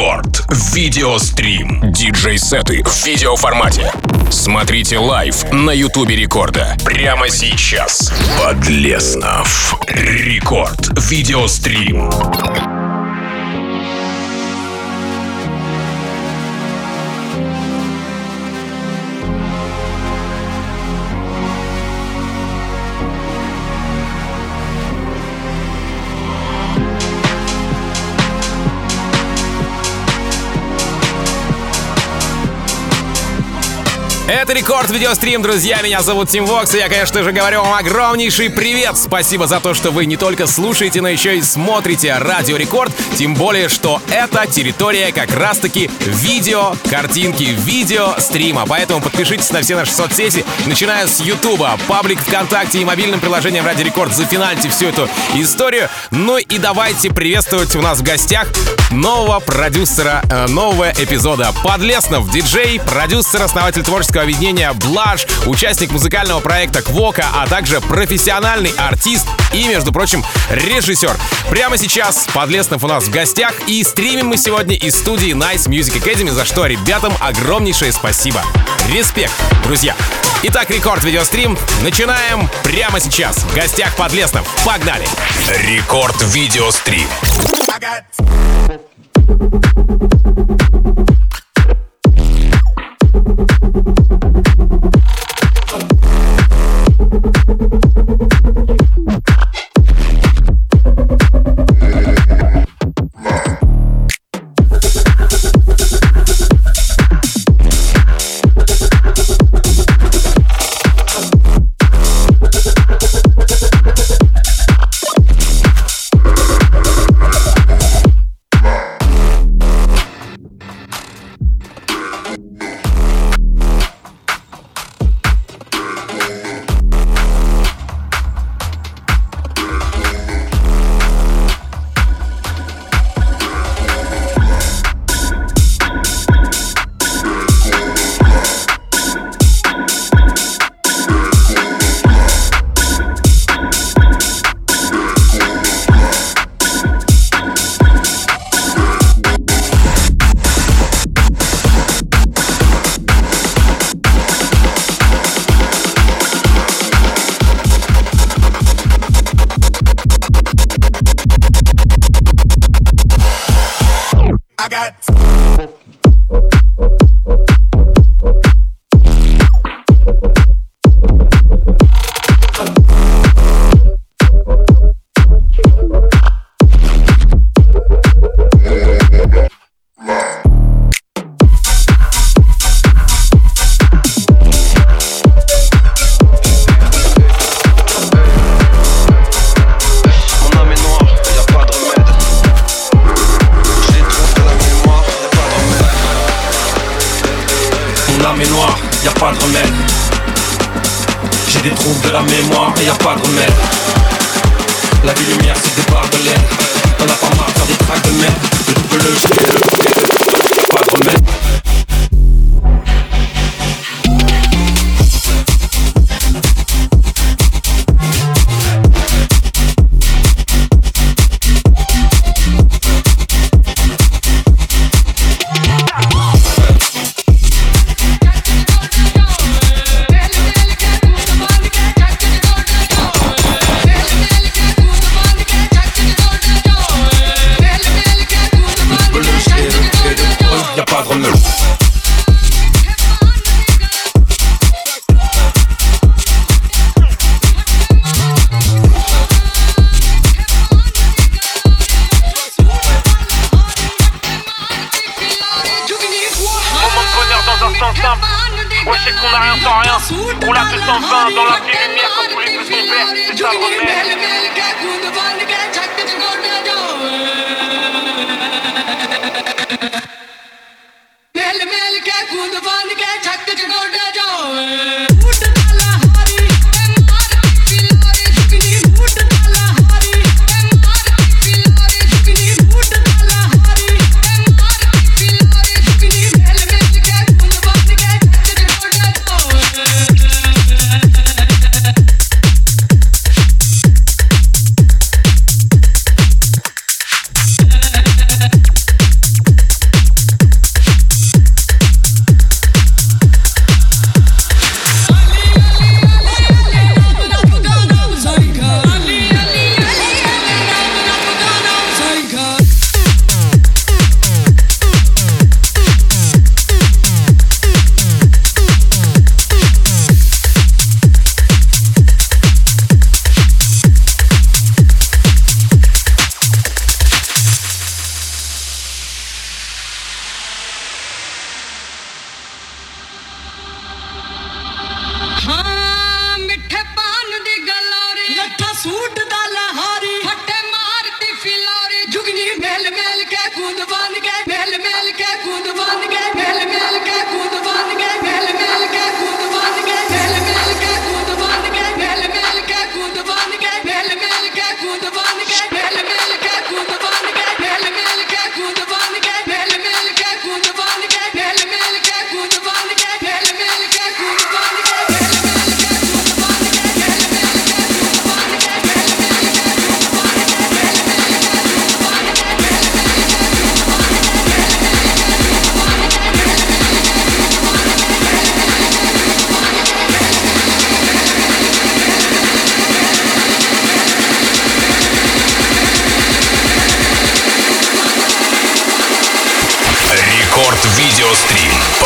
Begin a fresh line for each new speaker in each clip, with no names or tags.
Рекорд. Видеострим. Диджей-сеты в видеоформате. Смотрите лайв на Ютубе Рекорда. Прямо сейчас. Подлеснов. Рекорд. Видеострим.
Это Рекорд Видеострим, друзья, меня зовут Тим Вокс, и я, конечно же, говорю вам огромнейший привет. Спасибо за то, что вы не только слушаете, но еще и смотрите Радио Рекорд, тем более, что это территория как раз-таки видео, картинки, видео, стрима. Поэтому подпишитесь на все наши соцсети, начиная с Ютуба, паблик ВКонтакте и мобильным приложением Радио Рекорд. Зафинальте всю эту историю. Ну и давайте приветствовать у нас в гостях нового продюсера нового эпизода. Подлеснов, диджей, продюсер, основатель творческого объединения Блаш, участник музыкального проекта Квока, а также профессиональный артист и, между прочим, режиссер. Прямо сейчас Подлеснов у нас в гостях, и стримим мы сегодня из студии Nice Music Academy, за что ребятам огромнейшее спасибо. Респект, друзья. Итак, Рекорд Видеострим начинаем прямо сейчас. В гостях Подлеснов. Погнали!
Рекорд Видеострим.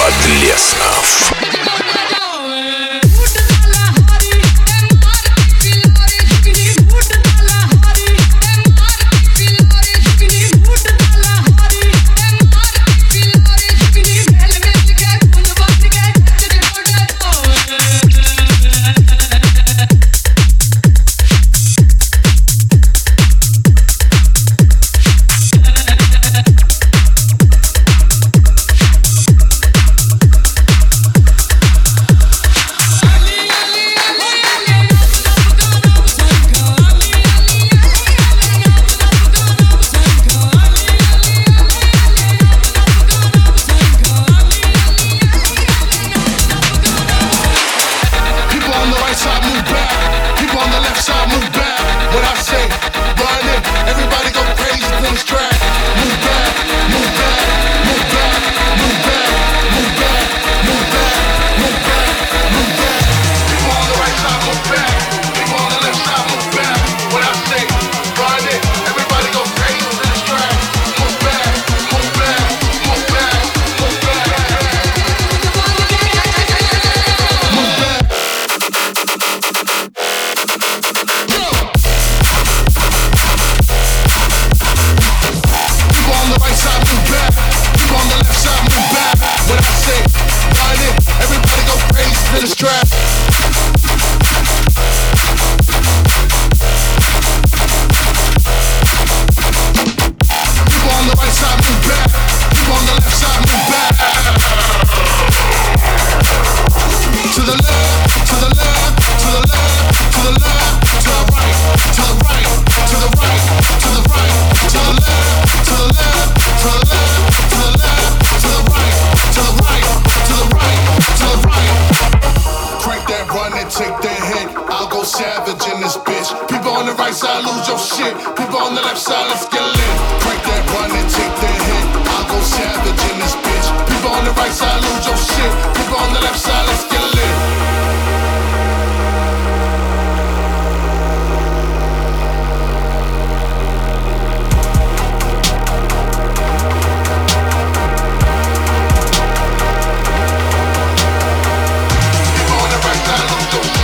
Подлеснов.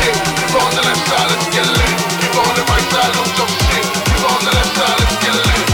Let's get lit.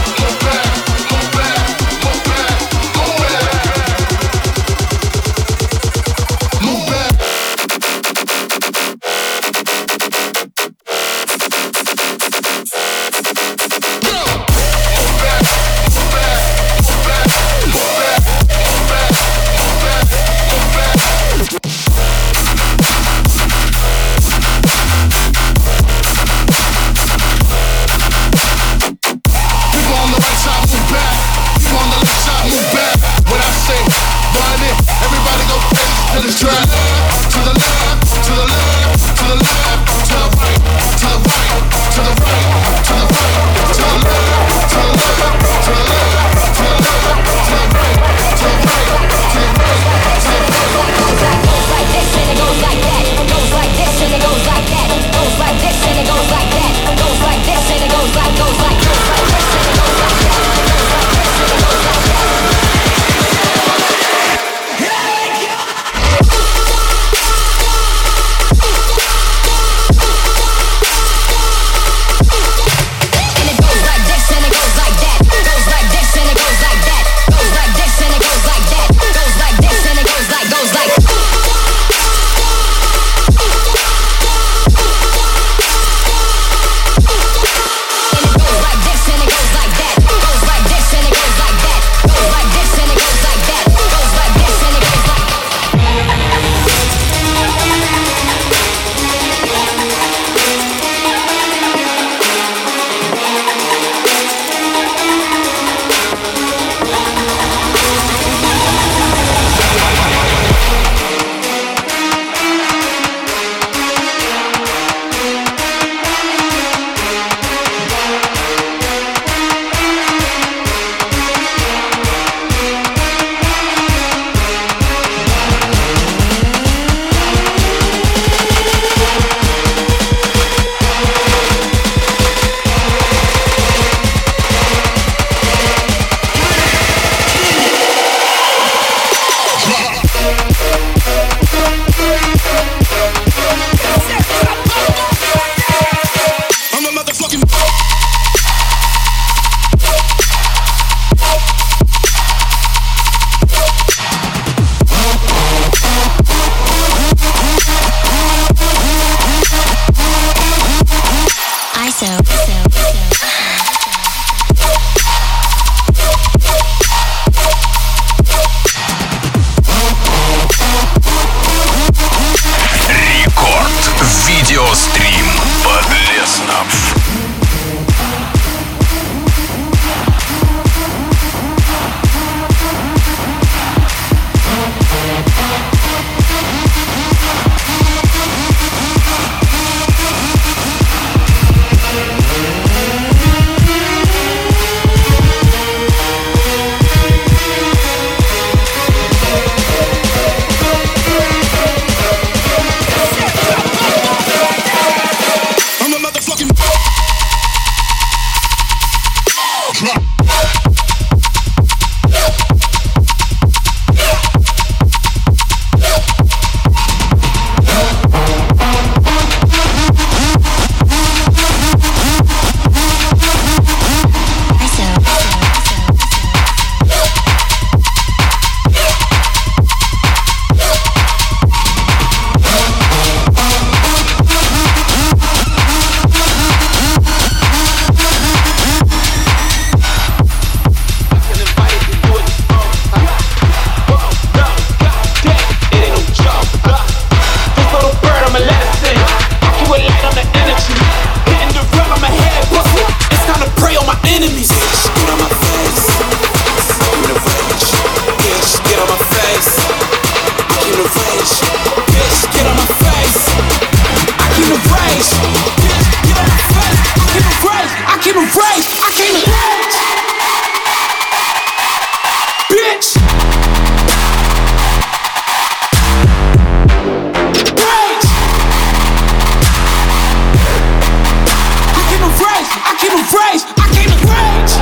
bitch. Rage. I came to rage. I came to rage. I came to rage.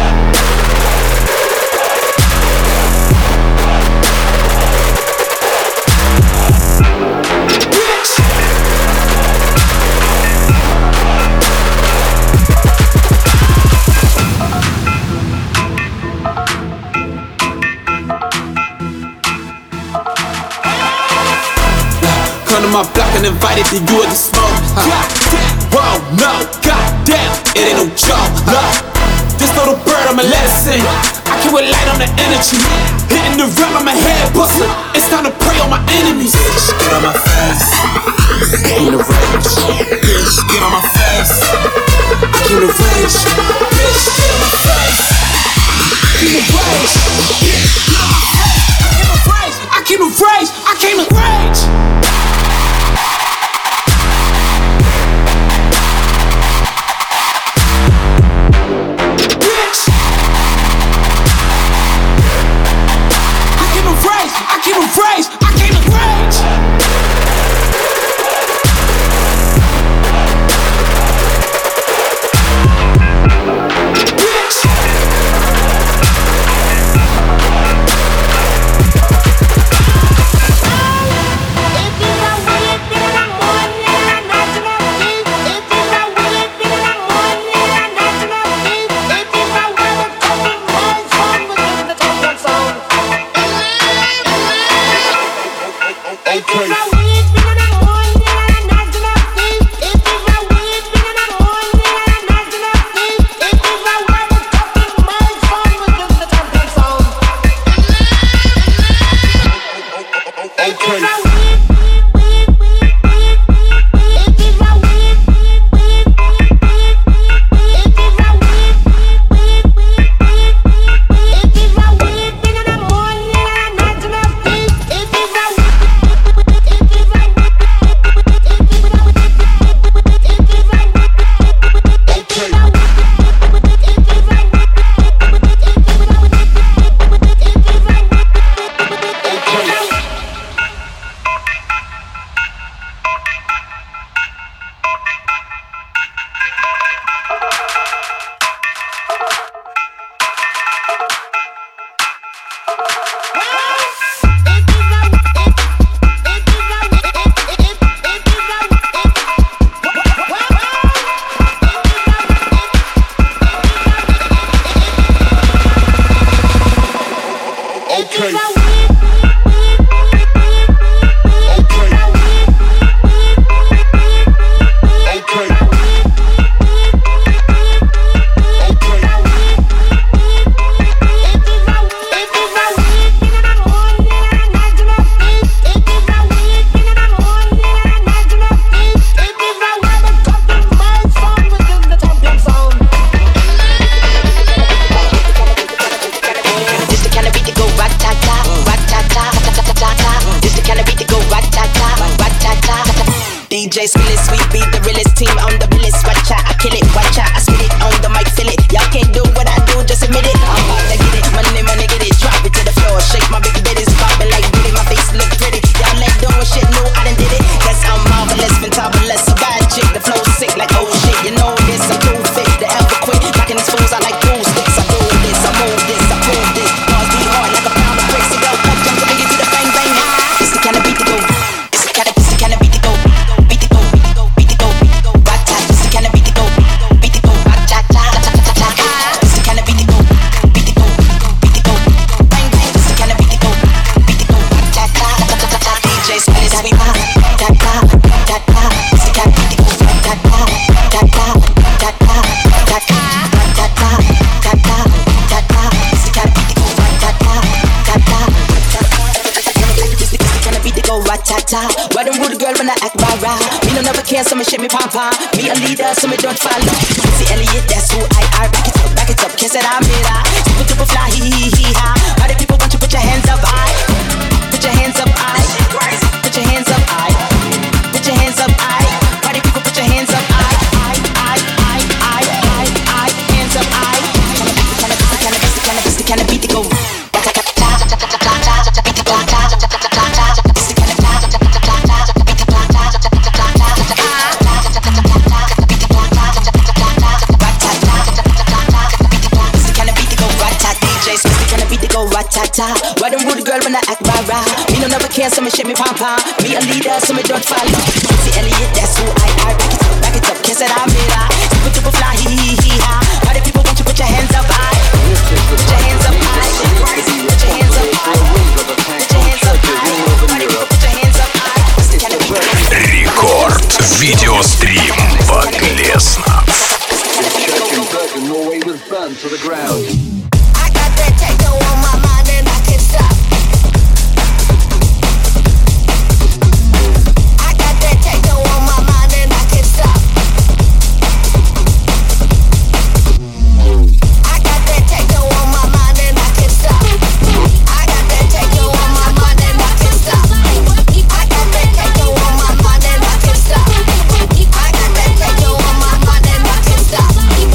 Come to my block and invited to you to smoke. Whoa, no, goddamn, it ain't no joke. Look, this little bird, I'ma let it sing. I can light on the energy. Hitting the rap, I'm a head buster. It's time to prey on my enemies. Bitch, get on my face. I came to rage. Bitch, get on my face. I came to rage. Bitch, get on my face. I came to rage. Bitch, get on my face. I came to rage. I came to rage. I came to rage, I came to rage. Bitch.
DJ Skillet, sweet beat, the realest team on the realest. Watch out, I kill it, watch out, I spit it on the mic, feel it. Y'all can't do what I do, just admit it. I'm about to get it, money, money, get it. Drop it to the floor, shake my big bitties, poppin' like booty, my face look pretty. Y'all let doing shit, new, I done did it. Cause I'm marvelous, fantabulous, a bad chick, the flow sick like oh shit. You know this, I'm too fit, the ever quit. Knocking these fools, I like cool sticks. I do this, I move this, I prove this. Bars be hard like a pound of bricks. So go, up, jump, so big to the bang, bang, high. It's the kind of beat to go. It's the kind of beat to go. Beat to go, beat to go, beat to go, beat to go, right time. It's the kind of beat to go. Beat to go, right cha cha cha cha cha cha. It's the kind of beat to go. Beat to go, beat to go, bang bang. It's the kind of beat to go. Beat to go, right cha cha cha cha cha cha. DJ Skillet, sweet beat, da da da da. It's the kind of beat to go. Da da da da da da da da da da da da da. It's the kind of beat to go. Da da da da. It's the kind of beat to go. Right cha cha. Why them rude girl when I act rah-rah? Me no never care, so me shit me pom-pom. Me a leader, so me don't follow. See Elliot, that's who I are. Back it up, kiss it, I'm it, super duper fly, hee-hee-hee-ha. All the people want you put your hands up, I. Put your hands up, I. Put your hands up, I. Put your hands up, I. All the people put your hands up, I. Hands up, I. It's the kind of beat to go. ta. Why them rude girl when I act rah-rah? Me no never care, so me shake me pom-pom. Me a leader, so me don't follow. Missy Elliott, that's who I are. Back it up, kiss it, I'm it. Super fly, hee-hee-hee-ha. All the people want you put your hands up high. Put your hands up high. Put your hands up high. Put your hands up high. Put your hands up high.
Рекорд видеострим Подлеснов.
I got that techno on my mind and I can't stop. I got that techno on my mind and I can't stop. I got that techno on my mind and I can't stop. I got that techno on my mind and I can't stop. I got that techno on my mind and I can't stop. I got that techno on my mind and I can't stop.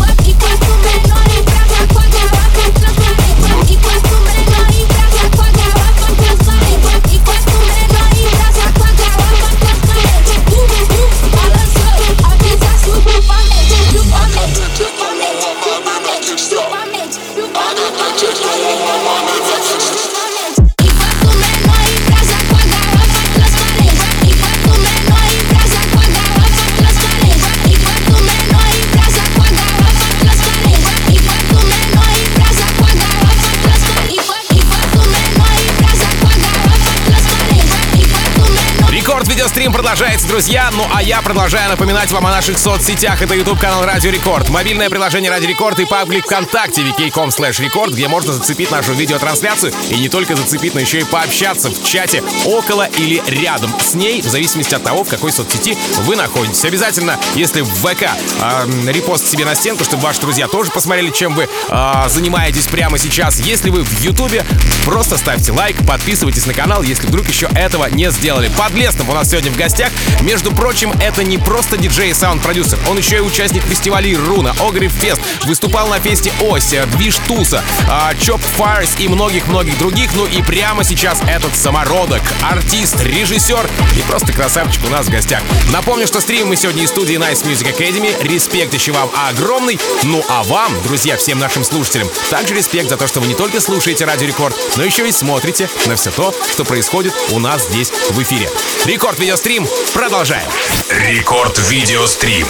Видеострим продолжается, друзья. Ну а я продолжаю напоминать вам о наших соцсетях. Это YouTube-канал Радио Рекорд, мобильное приложение Радио Рекорд и паблик ВКонтакте vk.com/рекорд, где можно зацепить нашу видеотрансляцию и не только зацепить, но еще и пообщаться в чате около или рядом с ней, в зависимости от того, в какой соцсети вы находитесь. Обязательно, если в ВК репост себе на стенку, чтобы ваши друзья тоже посмотрели, чем вы занимаетесь прямо сейчас. Если вы в Ютубе, просто ставьте лайк, подписывайтесь на канал, если вдруг еще этого не сделали. Подлеснов у нас сегодня в гостях. Между прочим, это не просто диджей и саунд-продюсер, он еще и участник фестивалей Руна, Огриф Фест, выступал на фесте Ось, Движ Туса, Чоп Файрс и многих-многих других. Ну и прямо сейчас этот самородок, артист, режиссер и просто красавчик у нас в гостях. Напомню, что стримим мы сегодня из студии Nice Music Academy. Респект еще вам огромный. Ну а вам, друзья, всем нашим слушателям, также респект за то, что вы не только слушаете Радио Рекорд, но еще и смотрите на все то, что происходит у нас здесь в эфире. Рекорд видеострим. Продолжаем.
Рекорд видеострим.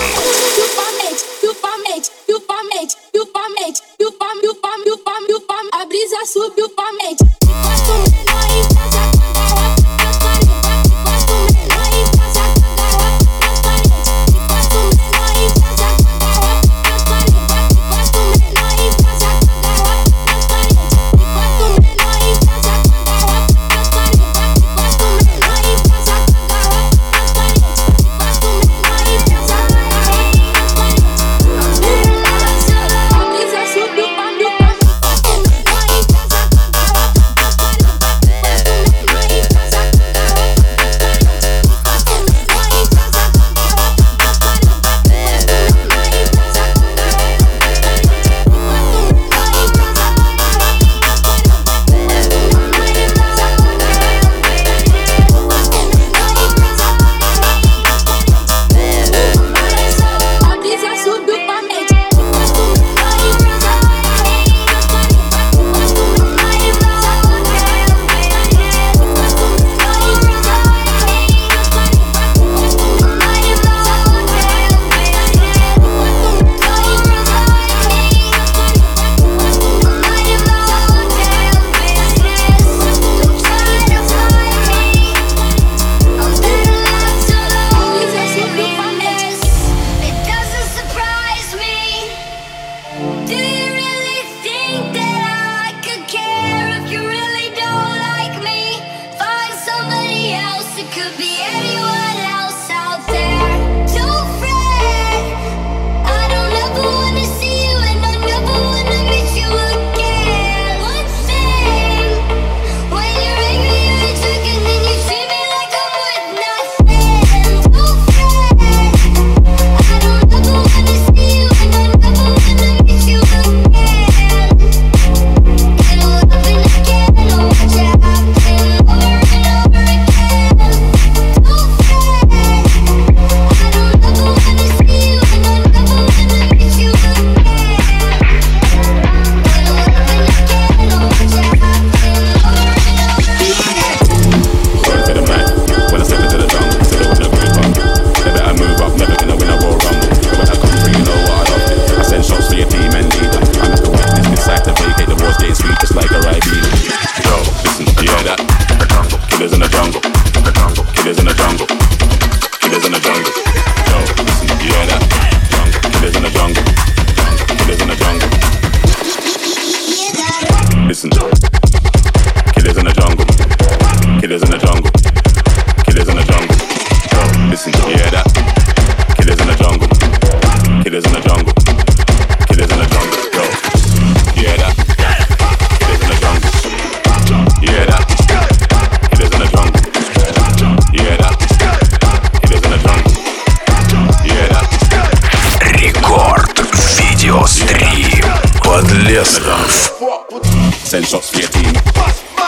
A brisa subiu pra mente.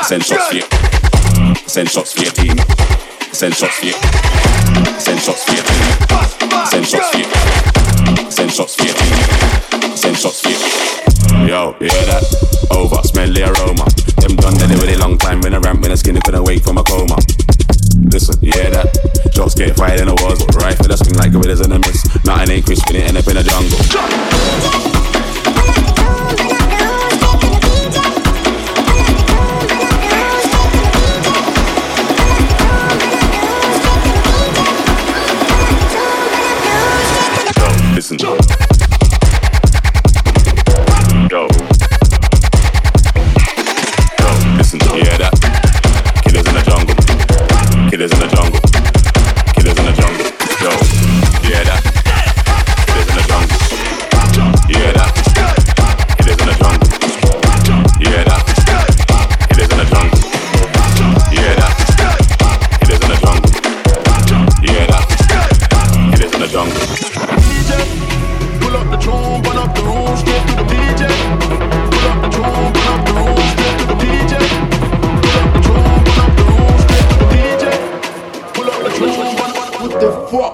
Send shots for you. Send shots for your team. Send shots for you. Send shots for your team. Send shots for you. Send shots for your team. Send shots for you. Yo, you hear that? Over, smell the aroma. Them done that really long time in a ramp when the skinny couldn't wake from a coma. Listen, you hear that? Shots get fired in the walls, but right for the swing like gorillas in a mist. Nothing ain't crisp, it end up in a jungle. Listen. Yo. Yo, listen, you hear that? Killers in the jungle. Killers in the jungle. Killers in the jungle. Yo, you hear that? Killers in the jungle. You hear that? Killers in the jungle. You hear that? Killers in the jungle. You hear that? Killers in the jungle. You hear that? Killers in the jungle.
Pull up the tune, burn up the room, straight to the DJ. Pull up the tune, burn up the room, straight to the DJ. Pull up the tune, burn up the room, straight to the DJ. Pull up the tune, burn up. What the fuck?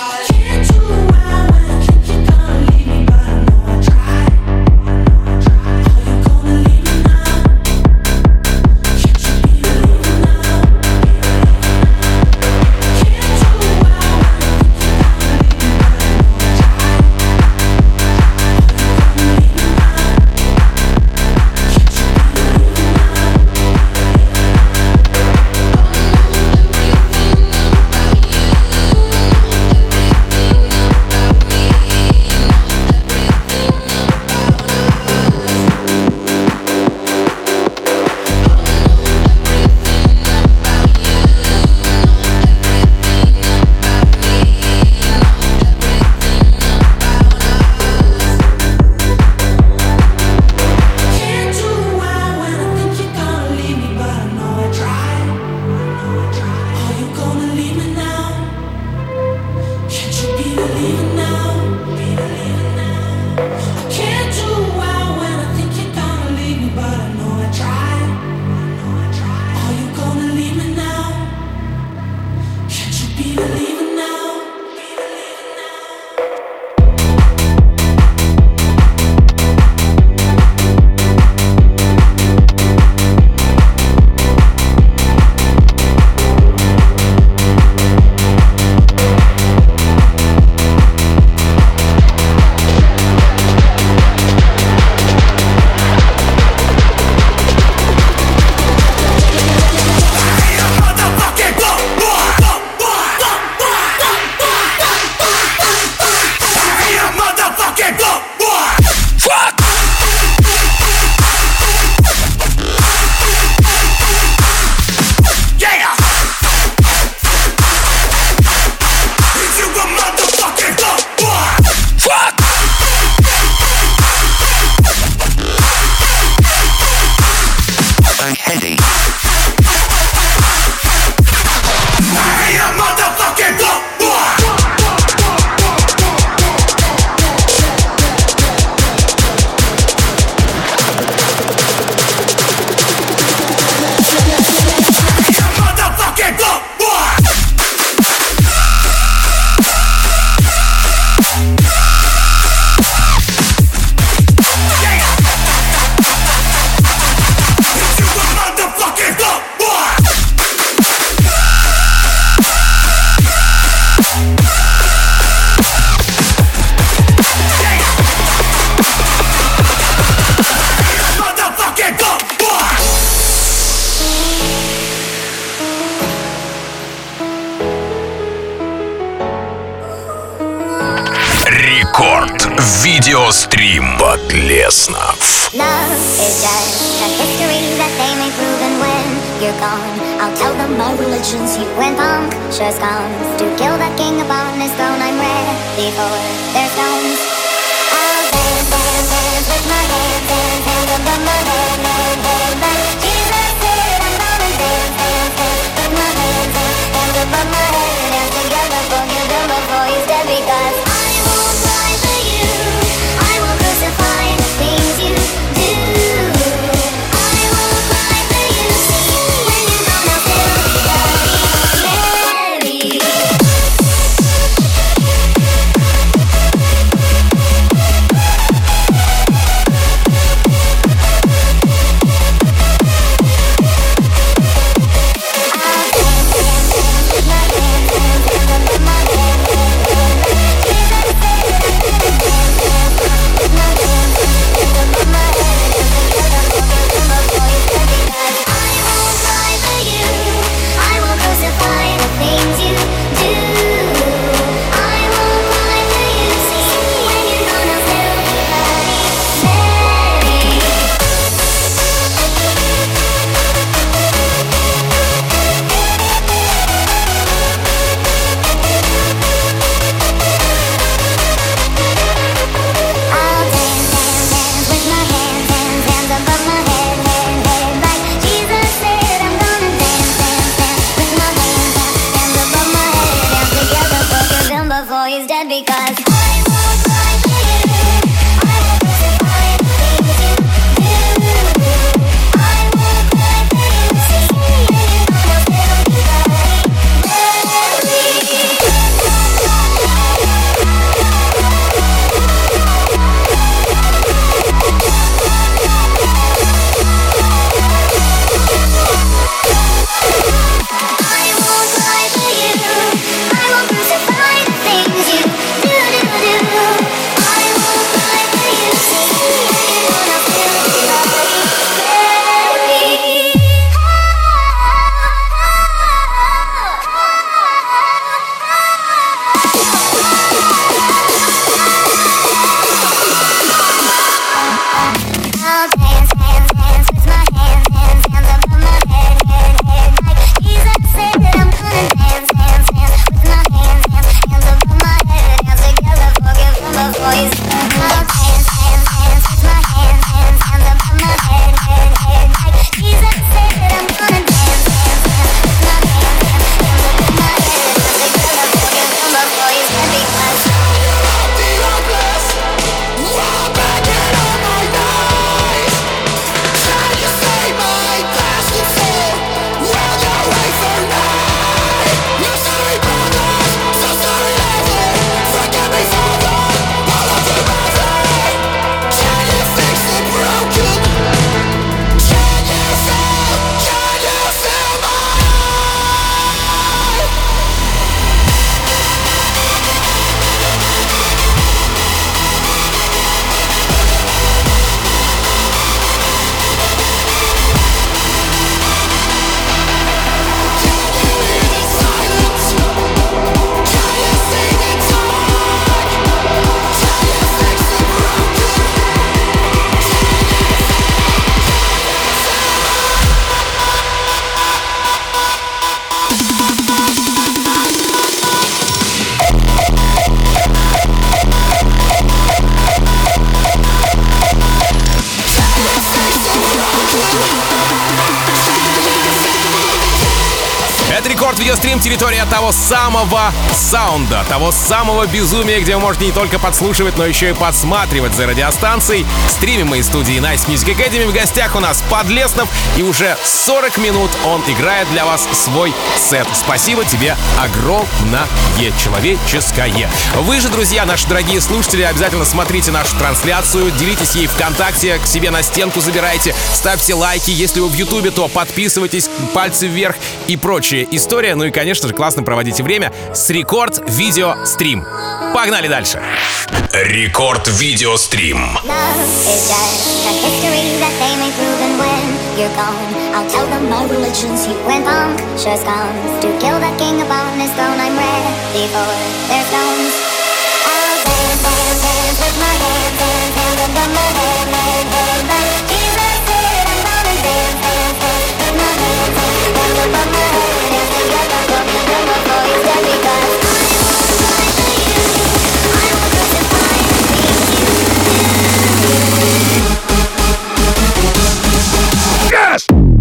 Видеострим Подлеснов.
Love is just a history that they may prove, and when you're gone, I'll tell them my religion's you and punctures comes to kill that king upon his throne. I'm ready for their stones. I'll dance, dance, dance with my hands, hands, hands above my head, head, head. But Jesus said I'm gonna dance, dance, dance with my hands, hands, hands above my head. Dance together, forgive him before he's dead, because I won't cry for you. I will crucify the things you do. I won't cry for you. See, when you're gone, I'll still be Mary. Before he's dead, because I won't cry for you. I will crucify the things you do. I won't cry for you. See, when you're gone, I'll still be Mary.
Видеострим — территория того самого саунда, того самого безумия, где вы можете не только подслушивать, но еще и подсматривать за радиостанцией. Стримим мы из студии Nice Music Academy. В гостях у нас Подлеснов, и уже 40 минут он играет для вас свой сет. Спасибо тебе огромное человеческое. Вы же, друзья, наши дорогие слушатели, обязательно смотрите нашу трансляцию, делитесь ей ВКонтакте, к себе на стенку забирайте, ставьте лайки. Если вы в Ютубе, то подписывайтесь, пальцы вверх и прочая история. Ну и, конечно же, классно проводите время с Рекорд Видео Стрим. Погнали дальше.
Рекорд Видео Стрим.
Love is just a history that they may prove, and when you're gone, I'll tell them my religion's you and punctures comes to kill the king upon his throne. I'm ready for their stones. I'll dance, dance, dance with my hands, hands, hands above my head, head, head. But Jesus said I'm gonna dance, dance, dance with my hands, hands, hands above my head. Hands together for me, bring my voice there, because I will crucify
Yes!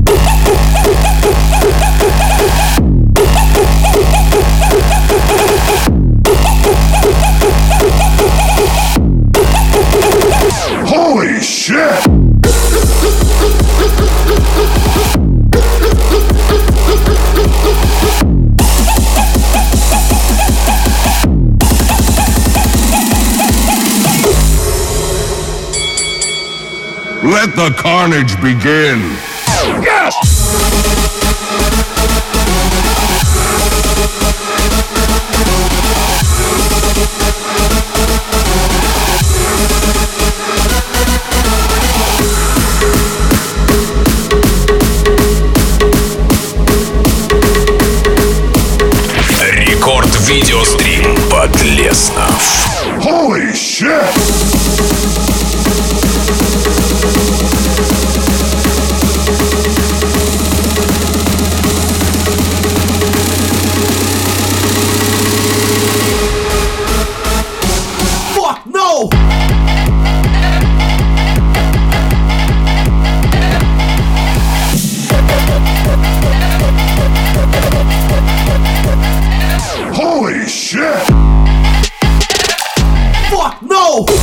Holy shit! Let the carnage begin. Yes!
Рекорд Видеострим. Подлеснов.
Holy shit!
Fuck no!
Holy shit!
Fuck no!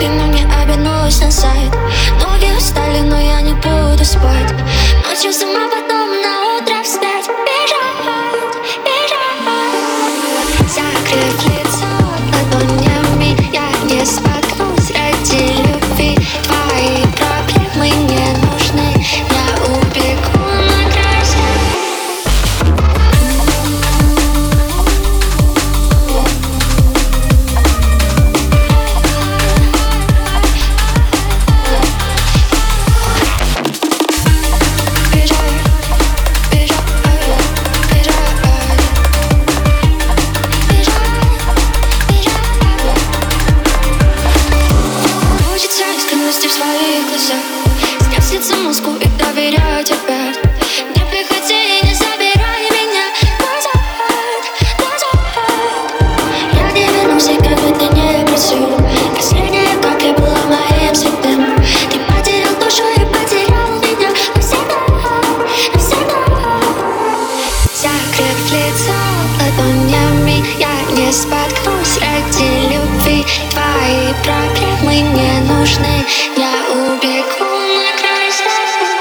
спину не обернулась на сайт. Ноги устали, но я не буду спать. Ночью сама, потом на утро встать. Бежать, бежать. Закрыв лицо ладонями, я не споткнусь ради любви. Твои проблемы не нужны, я убегу на край земли. Хочется искренности в своих глазах, снять с лица маску и доверять опять. Не приходи и не забирай меня назад, назад. Я не вернусь, и как бы ты не просил. Последняя капля была моим святым. Ты потерял душу и потерял меня навсегда, навсегда. Закрыв лицо ладонями, я не споткнусь ради любви. Твои проблемы не нужны, я убегу на край земли.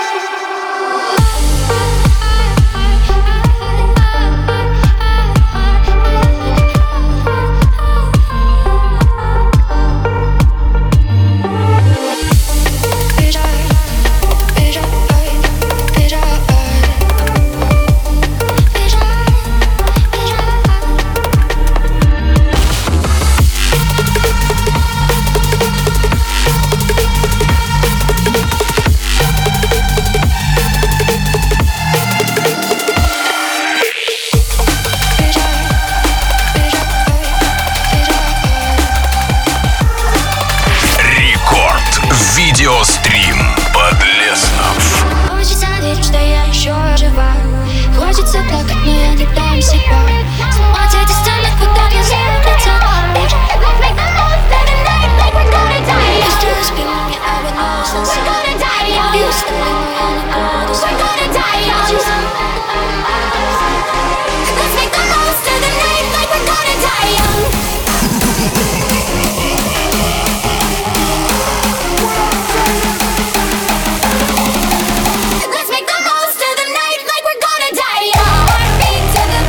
Рекорд видеострим Подлеснов.
Хочется верить, что я еще жива. Хочется плакать, но я не дам себя. Сломать эти стены, куда нельзя лететь. Быстро спину не обернулась назад. Ноги устали, но я не буду спать.
Let's make the most of the night like we're gonna die young. Let's make the most of the night like we're gonna die young. Heartbeat to the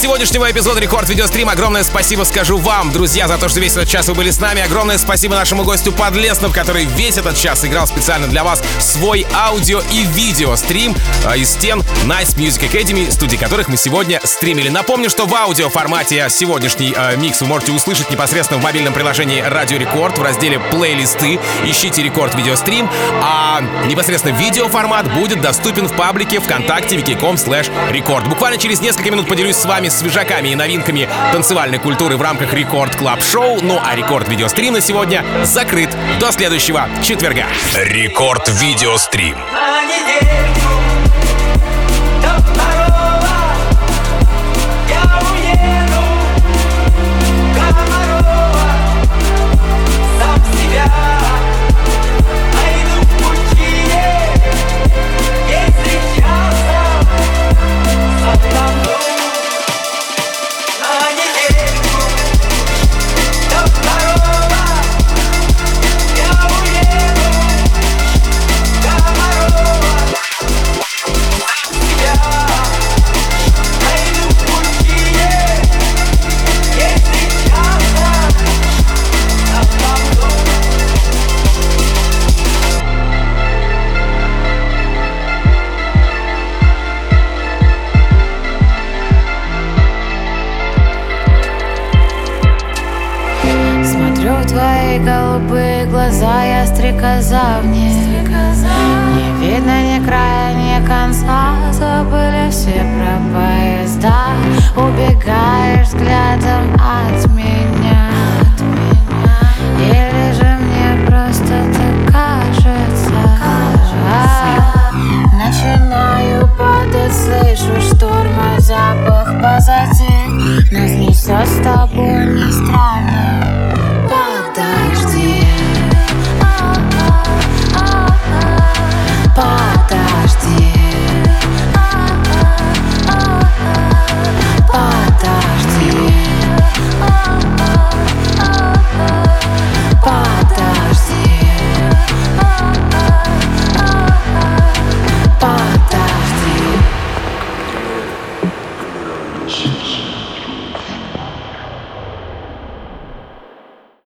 сегодняшнего эпизода Рекорд Видеострим огромное спасибо скажу вам, друзья, за то, что весь этот час вы были с нами. Огромное спасибо нашему гостю Подлеснов, который весь этот час играл специально для вас свой аудио и видеострим из стен Nice Music Academy, студии которых мы сегодня стримили. Напомню, что в аудиоформате сегодняшний микс вы можете услышать непосредственно в мобильном приложении Радио Рекорд в разделе «Плейлисты». Ищите Рекорд Видеострим, а непосредственно видеоформат будет доступен в паблике ВКонтакте wiki.com/рекорд. Буквально через несколько минут поделюсь с вами свежаками и новинками танцевальной культуры в рамках Рекорд Клаб Шоу. Ну а Рекорд Видеострим на сегодня закрыт до следующего четверга.
Рекорд Видеострим.
Голубые глаза, я стрекоза в ней. Не видно ни края, ни конца. Забыли все про поезда. Убегаешь взглядом от меня. Или же мне просто так кажется. Начинаю падать, слышу шторма, запах позади. Нас несет с тобой не странно.